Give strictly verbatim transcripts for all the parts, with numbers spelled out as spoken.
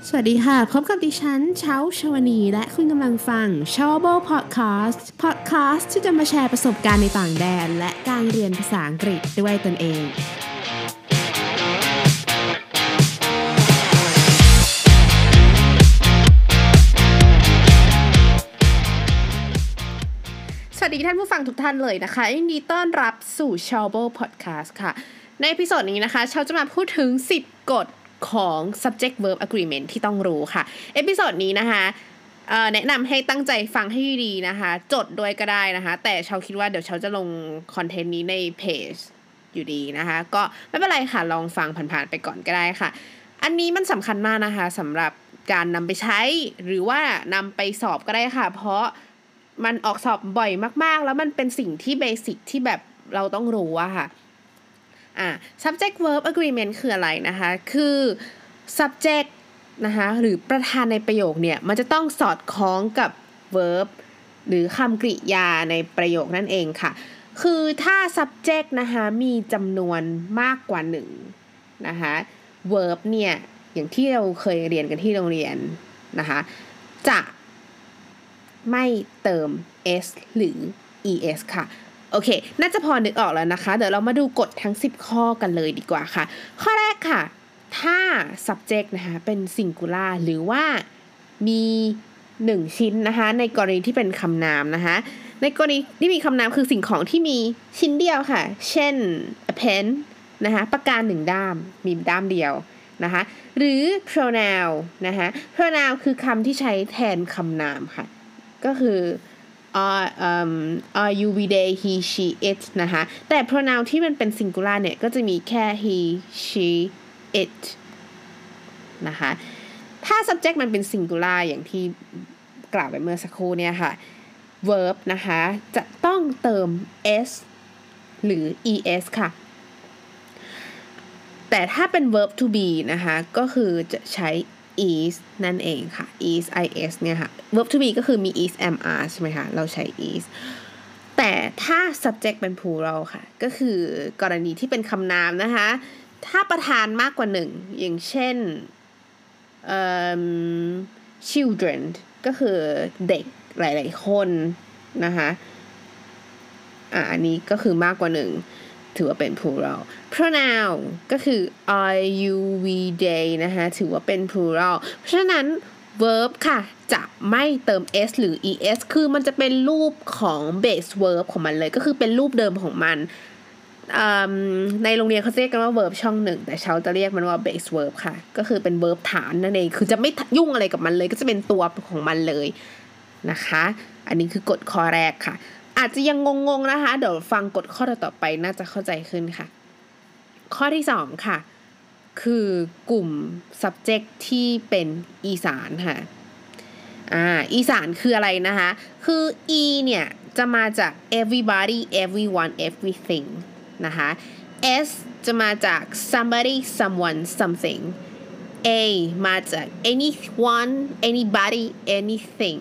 สวัสดีค่ะพบกับดิฉันเช้าชวนีและคุณกำลังฟัง Chowable Podcast Podcast ที่จะมาแชร์ประสบการณ์ในต่างแดนและการเรียนภาษาอังกฤษด้วยตนเองสวัสดีท่านผู้ฟังทุกท่านเลยนะคะยินดีต้อนรับสู่ Chowable Podcast ค่ะในเอพิโซดนี้นะคะเชาจะมาพูดถึงสิบกฎของ subject verb agreement ที่ต้องรู้ค่ะเอพิโซดนี้นะคะเอ่อแนะนำให้ตั้งใจฟังให้ดีนะคะจดด้วยก็ได้นะคะแต่เชาคิดว่าเดี๋ยวเชาจะลงคอนเทนต์นี้ในเพจอยู่ดีนะคะก็ไม่เป็นไรค่ะลองฟังผ่านๆไปก่อนก็ได้ค่ะอันนี้มันสำคัญมากนะคะสำหรับการนำไปใช้หรือว่านำไปสอบก็ได้ค่ะเพราะมันออกสอบบ่อยมากๆแล้วมันเป็นสิ่งที่เบสิกที่แบบเราต้องรู้อะค่ะอ่า subject verb agreement คืออะไรนะคะคือ subject นะคะหรือประธานในประโยคเนี่ยมันจะต้องสอดคล้องกับ verb หรือคำกริยาในประโยคนั่นเองค่ะคือถ้า subject นะคะมีจำนวนมากกว่าหนึ่งนะคะ verb เนี่ยอย่างที่เราเคยเรียนกันที่โรงเรียนนะคะจะไม่เติม s หรือ es ค่ะโอเคน่าจะพอนึกออกแล้วนะคะเดี๋ยวเรามาดูกฎทั้งสิบข้อกันเลยดีกว่าค่ะข้อแรกค่ะถ้า subject นะคะเป็น singular หรือว่ามีหนึ่งชิ้นนะคะในกรณีที่เป็นคำนามนะคะในกรณีที่มีคำนามคือสิ่งของที่มีชิ้นเดียวค่ะเช่น a pen นะคะปากกาหนึ่งด้ามมีด้ามเดียวนะคะหรือ pronoun นะคะ pronoun คือคำที่ใช้แทนคำนามค่ะก็คือare um are you we they he she it นะคะแต่ pronoun ที่มันเป็น singular เนี่ยก็จะมีแค่ he she it นะคะถ้า subject มันเป็น singular อย่างที่กล่าวไปเมื่อสักครู่เนี่ยค่ะ verb นะคะจะต้องเติม s หรือ es ค่ะแต่ถ้าเป็น verb to be นะคะก็คือจะใช้ is นั่นเองค่ะ is is เนี่ยค่ะ verb to be ก็คือมี is am are ใช่ไหมคะเราใช้ is แต่ถ้า subject เป็น plural ค่ะก็คือกรณีที่เป็นคำนามนะคะถ้าประธานมากกว่าหนึ่งอย่างเช่น um, children ก็คือเด็กหลายๆคนนะคะอ่ะอันนี้ก็คือมากกว่าหนึ่งถือว่าเป็น plural pronoun ก็คือ are you we they นะคะถือว่าเป็น plural เพราะฉะนั้น verb ค่ะจะไม่เติม s หรือ es คือมันจะเป็นรูปของ base verb ของมันเลยก็คือเป็นรูปเดิมของมันในโรงเรียนเขาเรียกกันว่า verb ช่องหนึ่งแต่เชาจะเรียกมันว่า base verb ค่ะก็คือเป็น verb ฐานนั่นเองคือจะไม่ยุ่งอะไรกับมันเลยก็จะเป็นตัวของมันเลยนะคะอันนี้คือกฎข้อแรกค่ะอาจจะยังงงๆนะคะเดี๋ยวฟังกฎข้อต่อไปน่าจะเข้าใจขึ้นค่ะข้อที่สองค่ะคือกลุ่ม subject ที่เป็นอีสานค่ะอ่าอีสานคืออะไรนะคะคือ e เนี่ยจะมาจาก everybody everyone everything นะคะ s จะมาจาก somebody someone something a มาจาก anyone anybody anything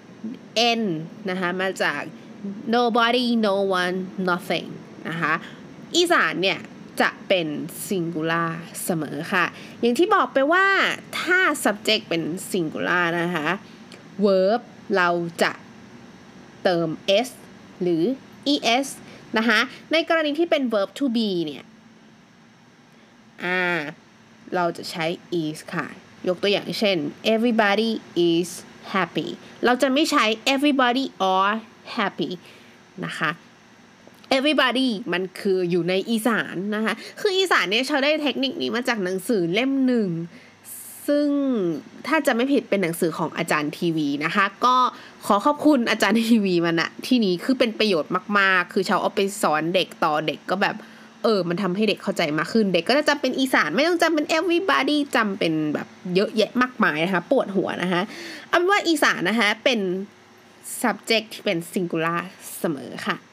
n นะคะมาจาก nobody no one nothing นะคะอีสานเนี่ยจะเป็น singular เสมอค่ะอย่างที่บอกไปว่าถ้า subject เป็น singular นะคะ verb เราจะเติม s หรือ es นะคะในกรณีที่เป็น verb to be เนี่ยอ่าเราจะใช้ is ค่ะยกตัวอย่างเช่น everybody is happy เราจะไม่ใช้ everybody are happy นะคะ everybody มันคืออยู่ในอีสานนะคะคืออีสานเนี่ยเขาได้เทคนิคนี้มาจากหนังสือเล่มหนึ่งซึ่งถ้าจะไม่ผิดเป็นหนังสือของอาจารย์ทีวีนะคะก็ขอขอบคุณอาจารย์ทีวีมันนะที่นี้คือเป็นประโยชน์มากๆคือเขาเอาไปสอนเด็กต่อเด็กก็แบบเออมันทำให้เด็กเข้าใจมากขึ้นเด็กก็จะจำเป็นอีสานไม่ต้องจำเป็น everybody จำเป็นแบบเยอะแยะมากมายนะคะปวดหัวนะคะเอาเป็นว่าอีสานนะคะเป็น subject ที่เป็น singular เสมอค่ะ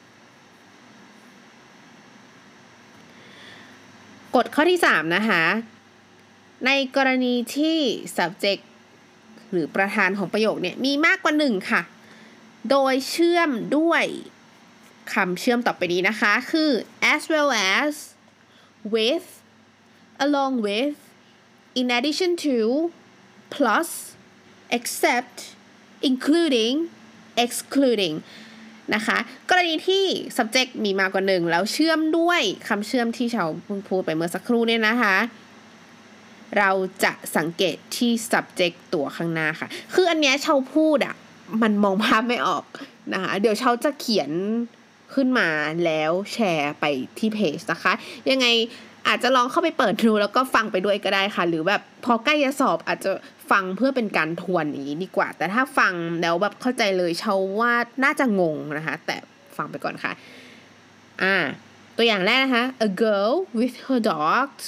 กฎข้อที่สามนะคะในกรณีที่ subject หรือประธานของประโยคเนี่ยมีมากกว่าหนึ่งค่ะโดยเชื่อมด้วยคำเชื่อมต่อไปนี้นะคะคือ as well as with along with in addition to plus except including excluding นะคะกรณีที่ subject มีมากกว่าหนึ่งแล้วเชื่อมด้วยคำเชื่อมที่เราเพิ่งพูดไปเมื่อสักครู่เนี่ยนะคะเราจะสังเกตที่ subject ตัวข้างหน้าค่ะคืออันเนี้ยเชาพูดอ่ะมันมองภาพไม่ออกนะคะเดี๋ยวเชาจะเขียนขึ้นมาแล้วแชร์ไปที่เพจนะคะยังไงอาจจะลองเข้าไปเปิดดูแล้วก็ฟังไปด้วยก็ได้ค่ะหรือแบบพอใกล้จะสอบอาจจะฟังเพื่อเป็นการทวนอย่างนี้ดีกว่าแต่ถ้าฟังแล้วแบบเข้าใจเลยเชาว่าน่าจะงงนะคะแต่ฟังไปก่อนค่ะอ่าตัวอย่างแรกนะคะ a girl with her dogs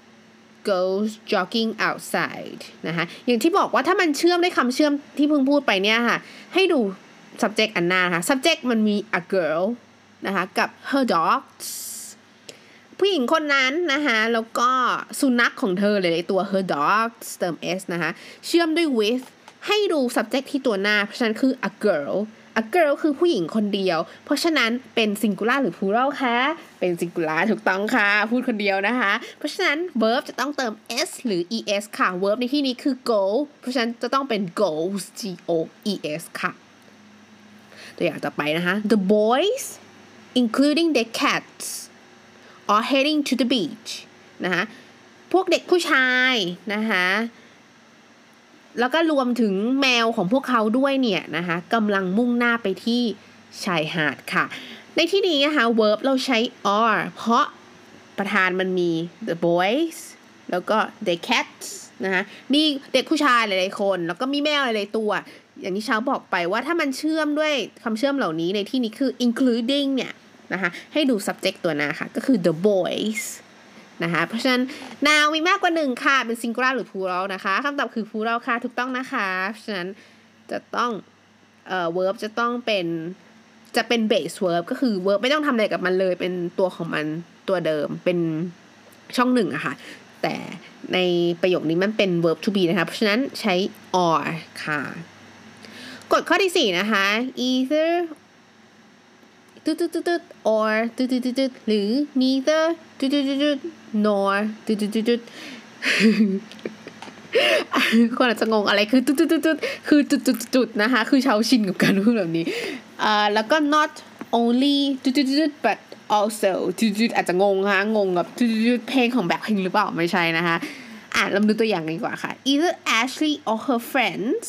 goes jogging outside นะคะอย่างที่บอกว่าถ้ามันเชื่อมด้วยคำเชื่อมที่เพิ่งพูดไปเนี่ยค่ะให้ดู subject อันหน้าค่ะ subject มันมี a girl นะคะกับ her dogs ผู้หญิงคนนั้นนะคะแล้วก็สุนัขของเธอเลยตัว her dogs เติม s นะคะเชื่อมด้วย with ให้ดู subject ที่ตัวหน้าเพราะฉะนั้นคือ a girl a girl คือผู้หญิงคนเดียวเพราะฉะนั้นเป็น singular หรือ plural คะเป็น singular ถูกต้องค่ะพูดคนเดียวนะคะเพราะฉะนั้น verb จะต้องเติม s หรือ es ค่ะ verb ในที่นี้คือ go เพราะฉะนั้นจะต้องเป็น goes g o e s ค่ะตัวอย่างต่อไปนะคะ the boys including their cats are heading to the beach นะคะพวกเด็กผู้ชายนะคะแล้วก็รวมถึงแมวของพวกเขาด้วยเนี่ยนะคะกำลังมุ่งหน้าไปที่ชายหาดค่ะในที่นี้นะคะ verb เราใช้ are เพราะประธานมันมี the boys แล้วก็ the cats นะคะมีเด็กผู้ชายหลายๆคนแล้วก็มีแมวหลายๆตัวอย่างที่เช้าบอกไปว่าถ้ามันเชื่อมด้วยคำเชื่อมเหล่านี้ในที่นี้คือ including เนี่ยนะคะให้ดู subject ตัวหน้าค่ะก็คือ the boysนะคะเพราะฉะนั้น now มีมากกว่าหนึ่งค่ะเป็น singular หรือ plural นะคะคำตอบคือ plural ค่ะถูกต้องนะคะเพราะฉะนั้นจะต้องเอ่อ verb จะต้องเป็นจะเป็น base verb ก็คือ verb ไม่ต้องทำอะไรกับมันเลยเป็นตัวของมันตัวเดิมเป็นช่องหนึ่งอะค่ะแต่ในประโยคนี้มันเป็น verb to be นะคะเพราะฉะนั้นใช้ are ค่ะกฎข้อที่สี่นะคะ eitherตุ๊ดตุ๊ดตุ๊ด or ตุ๊ดตุ๊ดตุ๊ดหรือ neither ตุ๊ดตุ๊ดตุ๊ด nor ตุ๊ดตุ๊ดตุ๊ดคนอาจจะงงอะไรคือตุ๊ดตุ๊ดตุ๊ดคือจุดจุดจุดนะคะคือชาวชินกับการพูดแบบนี้อ่าแล้วก็ not only ตุ๊ดตุ๊ดตุ๊ด but also ตุ๊ดตุ๊ดอาจจะงงค่ะงงกับตุ๊ดตุ๊ดเพลงของแบ็คพิงค์หรือเปล่าไม่ใช่นะคะอ่ะเราดูตัวอย่างกันดีกว่าค่ะ either Ashley or her friends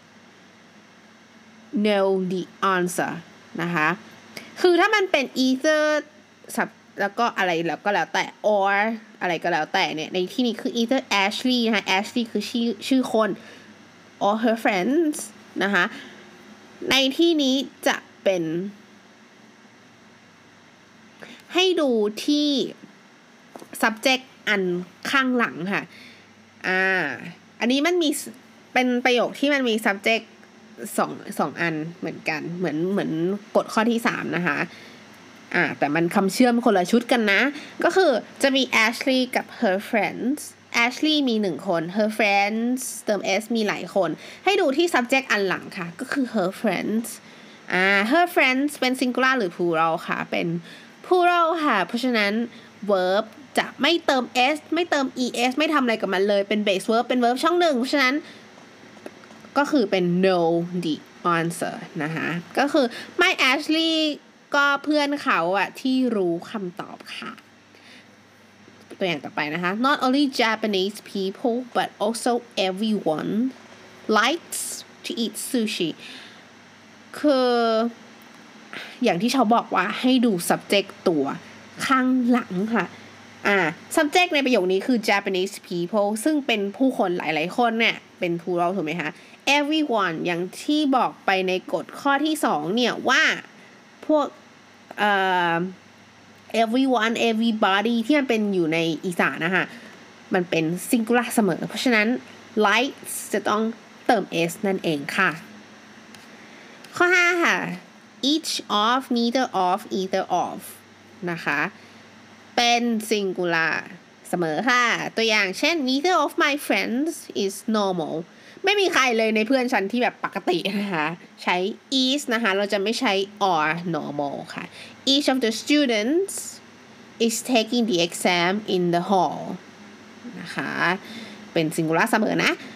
know the answer นะคะคือถ้ามันเป็น either สับแล้วก็อะไรแล้วก็แล้วแต่ or อะไรก็แล้วแต่เนี่ยในที่นี้คือ either Ashley นะคะ Ashley คือชื่อชื่อคน or her friends นะคะในที่นี้จะเป็นให้ดูที่ subject อันข้างหลังค่ะอ่าอันนี้มันมีเป็นประโยคที่มันมี subjectสองสองอันเหมือนกันเหมือนเหมือนกฎข้อที่สามนะคะอ่าแต่มันคำเชื่อมคนละชุดกันนะก็คือจะมี Ashley กับ her friends Ashley มีหนึ่งคน her friends เติม s มีหลายคนให้ดูที่ subject อันหลังค่ะก็คือ her friends อ่า her friends เป็น singular หรือ plural ค่ะเป็น plural ค่ะเพราะฉะนั้น verb จะไม่เติม s ไม่เติม es ไม่ทำอะไรกับมันเลยเป็น base verb เป็น verb ช่องหนึ่งเพราะฉะนั้นก็คือเป็น know the answer นะคะก็คือ my Ashley ก็เพื่อนเขาอะที่รู้คำตอบค่ะตัวอย่างต่อไปนะคะ not only Japanese people but also everyone likes to eat sushi คืออย่างที่เขาบอกว่าให้ดู subject ตัวข้างหลังค่ะอ่า subject ในประโยคนี้คือ Japanese people ซึ่งเป็นผู้คนหลายๆคนเนี่ยเป็น plural ถูกไหมคะ everyone อย่างที่บอกไปในกฎข้อที่สองเนี่ยว่าพวกเอ่อ everyone everybody ที่มันเป็นอยู่ในอีสานนะคะมันเป็น singular เสมอเพราะฉะนั้น likes จะต้องเติม s นั่นเองค่ะข้อห้าค่ะ each of neither of either of นะคะเป็น singular เสมอค่ะตัวอย่างเช่น neither of my friends is normal ไม่มีใครเลยในเพื่อนฉันที่แบบปกตินะคะใช้ is นะคะเราจะไม่ใช้ are normal ค่ะ each of the students is taking the exam in the hall นะคะเป็น singular เสมอนะ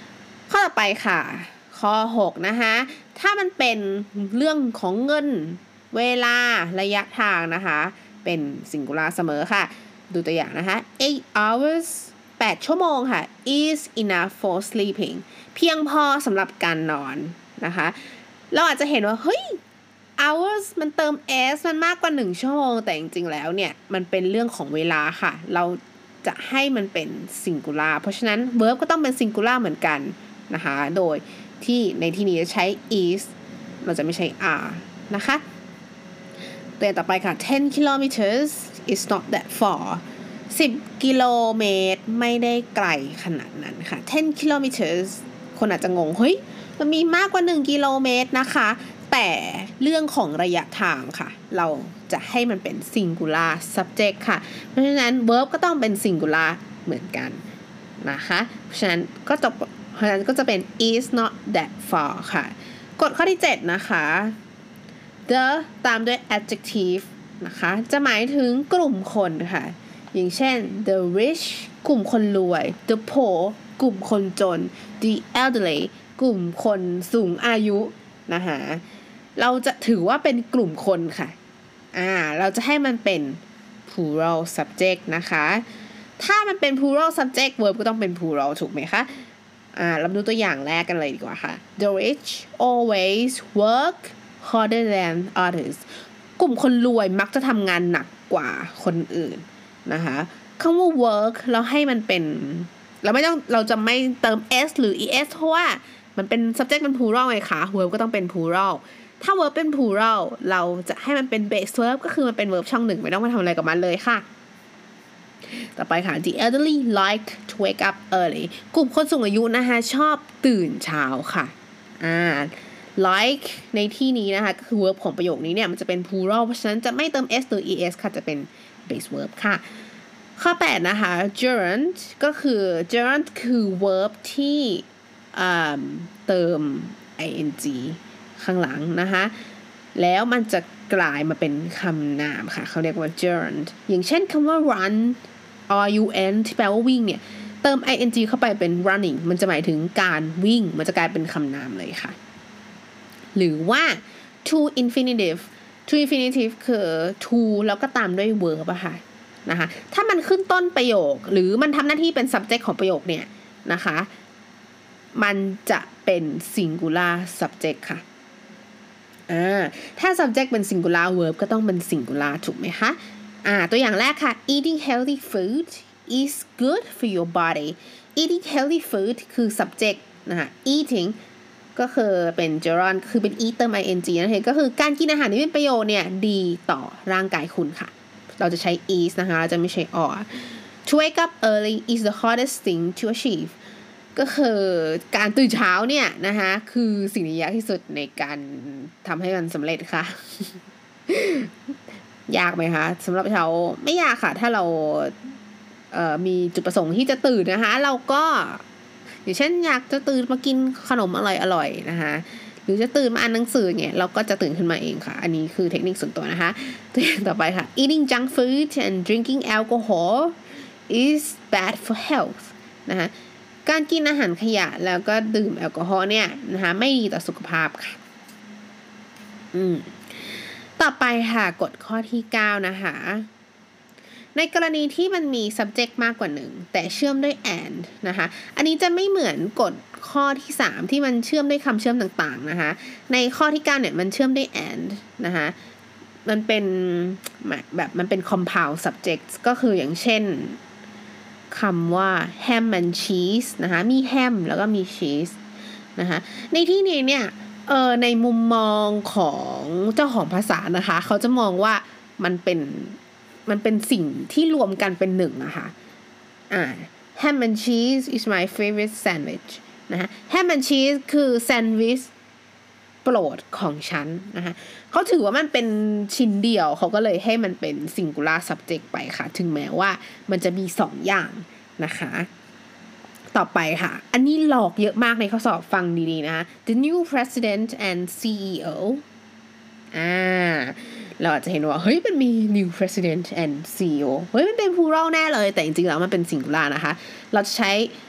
ข้อต่อไปค่ะข้อหกนะคะถ้ามันเป็นเรื่องของเงินเวลาระยะทางนะคะเป็น singular เสมอค่ะดูตัวอย่างนะคะ eight hours แปดชั่วโมงค่ะ is enough for sleeping เพียงพอสำหรับการนอนนะคะเราอาจจะเห็นว่าเฮ้ย hours มันเติม s มันมากกว่าหนึ่งชั่วโมงแต่จริงๆแล้วเนี่ยมันเป็นเรื่องของเวลาค่ะเราจะให้มันเป็น singular เพราะฉะนั้น verb ก็ต้องเป็น singular เหมือนกันนะคะโดยที่ในที่นี้จะใช้ is เราจะไม่ใช้ are นะคะตัวต่อไปค่ะten kilometers is not that far สิบกิโลเมตรไม่ได้ไกลขนาดนั้นค่ะten kilometers คนอาจจะงงเฮ้ยมันมีมากกว่าหนึ่งกิโลเมตรนะคะแต่เรื่องของระยะทางค่ะเราจะให้มันเป็น singular subject ค่ะเพราะฉะนั้น verb ก็ต้องเป็น singular เหมือนกันนะคะเพราะฉะนั้นก็จะเพราะฉะนั้นก็จะเป็น is not that far ค่ะกฎข้อที่เจ็ดนะคะ the ตามด้วย adjective นะคะจะหมายถึงกลุ่มคนค่ะอย่างเช่น the rich กลุ่มคนรวย the poor กลุ่มคนจน the elderly กลุ่มคนสูงอายุนะคะเราจะถือว่าเป็นกลุ่มคนค่ะอ่าเราจะให้มันเป็น plural subject นะคะถ้ามันเป็น plural subject verb ก็ต้องเป็น plural ถูกไหมคะอ่าเราดูตัวอย่างแรกกันเลยดีกว่าค่ะ the rich always work harder than others กลุ่มคนรวยมักจะทำงานหนักกว่าคนอื่นนะคะคำว่า work เราให้มันเป็นเราไม่ต้องเราจะไม่เติม s หรือ es เพราะว่ามันเป็น subject เป็น plural ไงคะ verb ก็ต้องเป็น plural ถ้า verb เป็น plural เราจะให้มันเป็น base verb ก็คือมันเป็น verb ช่องหนึ่งไม่ต้องมาทำอะไรกับมันเลยค่ะต่อไปค่ะ the elderly like to wake up early กลุ่มคนสูงอายุนะคะชอบตื่นเช้าค่ะอ่า like ในที่นี้นะคะก็คือ verb ของประโยคนี้เนี่ยมันจะเป็น plural เพราะฉะนั้นจะไม่เติม s หรือ es ค่ะจะเป็น base verb ค่ะข้อแปดนะคะ gerund ก็คือ gerund คือ verb ที่เติม ing ข้างหลังนะคะแล้วมันจะกลายมาเป็นคำนามค่ะเขาเรียกว่า gerund อย่างเช่นคำว่า run run ที่แปลว่าวิ่งเนี่ยเติม ing เข้าไปเป็น running มันจะหมายถึงการวิ่งมันจะกลายเป็นคำนามเลยค่ะหรือว่า to infinitive to infinitive คือ to แล้วก็ตามด้วย verb อะค่ะนะคะถ้ามันขึ้นต้นประโยคหรือมันทำหน้าที่เป็น subject ของประโยคเนี่ยนะคะมันจะเป็น singular subject ค่ะอ่าถ้า subject เป็น singular verb ก็ต้องเป็น singular ถูกไหมคะอ่าตัวอย่างแรกค่ะ eating healthy food is good for your body eating healthy food คือ subject นะคะ eating ก็คือเป็น gerund คือเป็น eat เติม ing นั่นเองก็คือการกินอาหารที่เป็นประโยชน์เนี่ยดีต่อร่างกายคุณค่ะเราจะใช้ is นะคะเราจะไม่ใช้ or to wake up early is the hardest thing to achieve ก็คือการตื่นเช้าเนี่ยนะคะคือสิ่งที่ยากที่สุดในการทำให้มันสำเร็จค่ะ ยากไหมคะสำหรับเราไม่ยากค่ะถ้าเราเอ่อมีจุดประสงค์ที่จะตื่นนะคะเราก็อย่างเช่นอยากจะตื่นมากินขนมอร่อยๆนะคะหรือจะตื่นมาอ่านหนังสือเนี่ยเราก็จะตื่นขึ้นมาเองค่ะอันนี้คือเทคนิคส่วนตัวนะคะตัวอย่างต่อไปค่ะ eating junk food and drinking alcohol is bad for health นะคะการกินอาหารขยะแล้วก็ดื่มแอลกอฮอล์เนี่ยนะคะไม่ดีต่อสุขภาพค่ะอืมต่อไปค่ะกฎข้อที่เก้านะคะในกรณีที่มันมี subject มากกว่าหนึ่งแต่เชื่อมด้วย and นะคะอันนี้จะไม่เหมือนกฎข้อที่สามที่มันเชื่อมด้วยคำเชื่อมต่างๆนะคะในข้อที่เก้าเนี่ยมันเชื่อมด้วย and นะคะมันเป็นแบบมันเป็น compound subject ก็คืออย่างเช่นคำว่า ham and cheese นะคะมี ham แล้วก็มี cheese นะคะในที่นี้เนี่ยเออในมุมมองของเจ้าของภาษานะคะเขาจะมองว่ามันเป็นมันเป็นสิ่งที่รวมกันเป็นหนึ่งนะคะอ่า ham and cheese is my favorite sandwich นะคะ ham and cheese คือแซนด์วิชโปรดของฉันนะคะเขาถือว่ามันเป็นชิ้นเดียวเขาก็เลยให้มันเป็น singular subject ไปค่ะถึงแม้ว่ามันจะมีสองอย่างนะคะต่อไปค่ะอันนี้หลอกเยอะมากในข้อสอบฟังดีๆนะ the new president and ซี อี โอ อ่าเราอาจจะเห็นว่าเฮ้ยมันมี new president and ซี อี โอ เฮ้ยมันเป็น plural แน่เลยแต่จริงๆแล้วมันเป็น singular นะคะเราจะใช้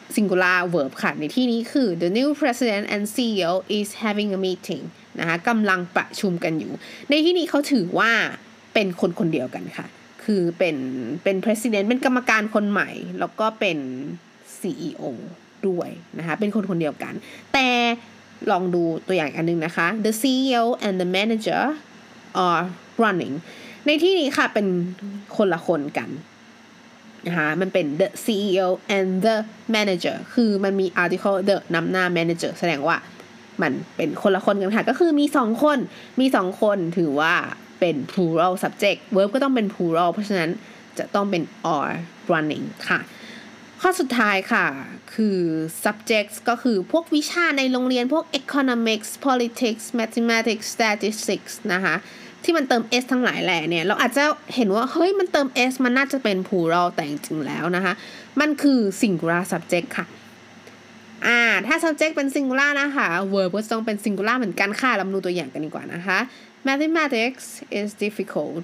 singular verb ค่ะในที่นี้คือ the new president and ซี อี โอ is having a meeting นะคะกำลังประชุมกันอยู่ในที่นี้เขาถือว่าเป็นคนคนเดียวกันค่ะคือเป็นเป็น president เป็นกรรมการคนใหม่แล้วก็เป็น ซี อี โอ ด้วยนะคะเป็นคนคนเดียวกันแต่ลองดูตัวอย่างอันนึงนะคะ the ซี อี โอ and the manager are running ในที่นี้ค่ะเป็นคนละคนกันนะคะมันเป็น the ซี อี โอ and the manager คือมันมี article the นำหน้า manager แสดงว่ามันเป็นคนละคนกันค่ะก็คือมีสองคนมีสองคนถือว่าเป็น plural subject verb ก็ต้องเป็น plural เพราะฉะนั้นจะต้องเป็น are running ค่ะข้อสุดท้ายค่ะคือ subjects ก็คือพวกวิชาในโรงเรียนพวก economics politics mathematics statistics นะคะที่มันเติม s ทั้งหลายแหล่เนี่ยเราอาจจะเห็นว่าเฮ้ยมันเติม s มันน่าจะเป็น plural แต่จริงๆแล้วนะคะมันคือ singular subject ค่ะอ่าถ้า subject เป็น singular นะคะ verb ก็ต้องเป็น singular เหมือนกันค่ะเรามาดูตัวอย่างกันดีกว่านะคะ mathematics is difficult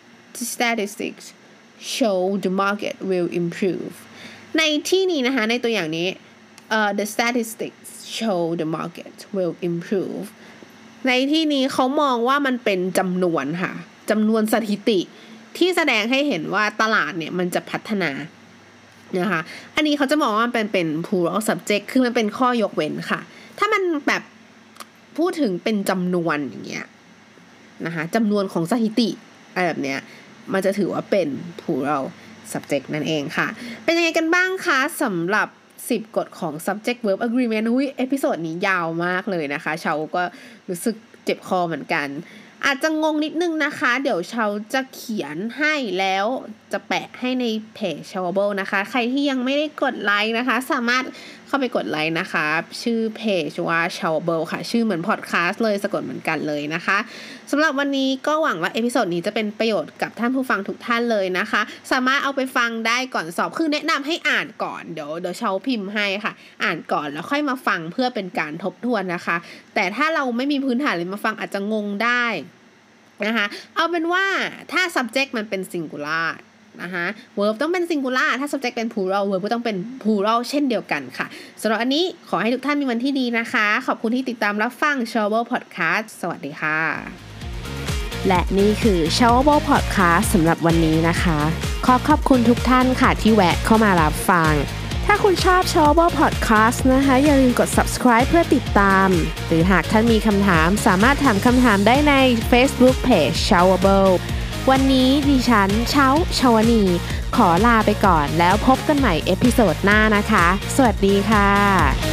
statistics show the market will improve ในที่นี้นะคะในตัวอย่างนี้ uh, the statistics show the market will improve ในที่นี้เขามองว่ามันเป็นจำนวนค่ะจำนวนสถิติที่แสดงให้เห็นว่าตลาดเนี่ยมันจะพัฒนานะคะอันนี้เขาจะมองว่ามันเป็นเป็น plural subject คือมันเป็นข้อยกเว้นค่ะถ้ามันแบบพูดถึงเป็นจำนวนอย่างเงี้ยนะคะจำนวนของสถิติอะไรแบบเนี้ยมันจะถือว่าเป็น plural subject นั่นเองค่ะเป็นยังไงกันบ้างคะสำหรับสิบกฎของ subject verb agreement อุ้ยเอพิโซดนี้ยาวมากเลยนะคะเชาก็รู้สึกเจ็บคอเหมือนกันอาจจะงงนิดนึงนะคะเดี๋ยวเชาจะเขียนให้แล้วจะแปะให้ในเพจ Showable นะคะใครที่ยังไม่ได้กดไลค์นะคะสามารถเข้าไปกดไลค์นะคะชื่อเพจว่า Showable ค่ะชื่อเหมือนพอดคาสต์เลยสะกดเหมือนกันเลยนะคะสำหรับวันนี้ก็หวังว่าเอพิโซดนี้จะเป็นประโยชน์กับท่านผู้ฟังทุกท่านเลยนะคะสามารถเอาไปฟังได้ก่อนสอบคือแนะนำให้อ่านก่อนเดี๋ยวเดี๋ยวเชาพิมพ์ให้ค่ะอ่านก่อนแล้วค่อยมาฟังเพื่อเป็นการทบทวนนะคะแต่ถ้าเราไม่มีพื้นฐานเลยมาฟังอาจจะงงได้นะคะเอาเป็นว่าถ้า subject มันเป็น singular นะคะ verb ต้องเป็น singular ถ้า subject เป็น plural verb ก็ต้องเป็น plural เช่นเดียวกันค่ะสำหรับอันนี้ขอให้ทุกท่านมีวันที่ดีนะคะขอบคุณที่ติดตามรับฟัง Showable Podcast สวัสดีค่ะและนี่คือ Showable Podcast สำหรับวันนี้นะคะขอขอบคุณทุกท่านค่ะที่แวะเข้ามารับฟังถ้าคุณชอบ Showable Podcast นะคะอย่าลืมกด subscribe เพื่อติดตามหรือหากท่านมีคำถามสามารถถามคำถามได้ใน Facebook Page Showable วันนี้ดิฉันเช้าชวนีขอลาไปก่อนแล้วพบกันใหม่เอพิโซดหน้านะคะสวัสดีค่ะ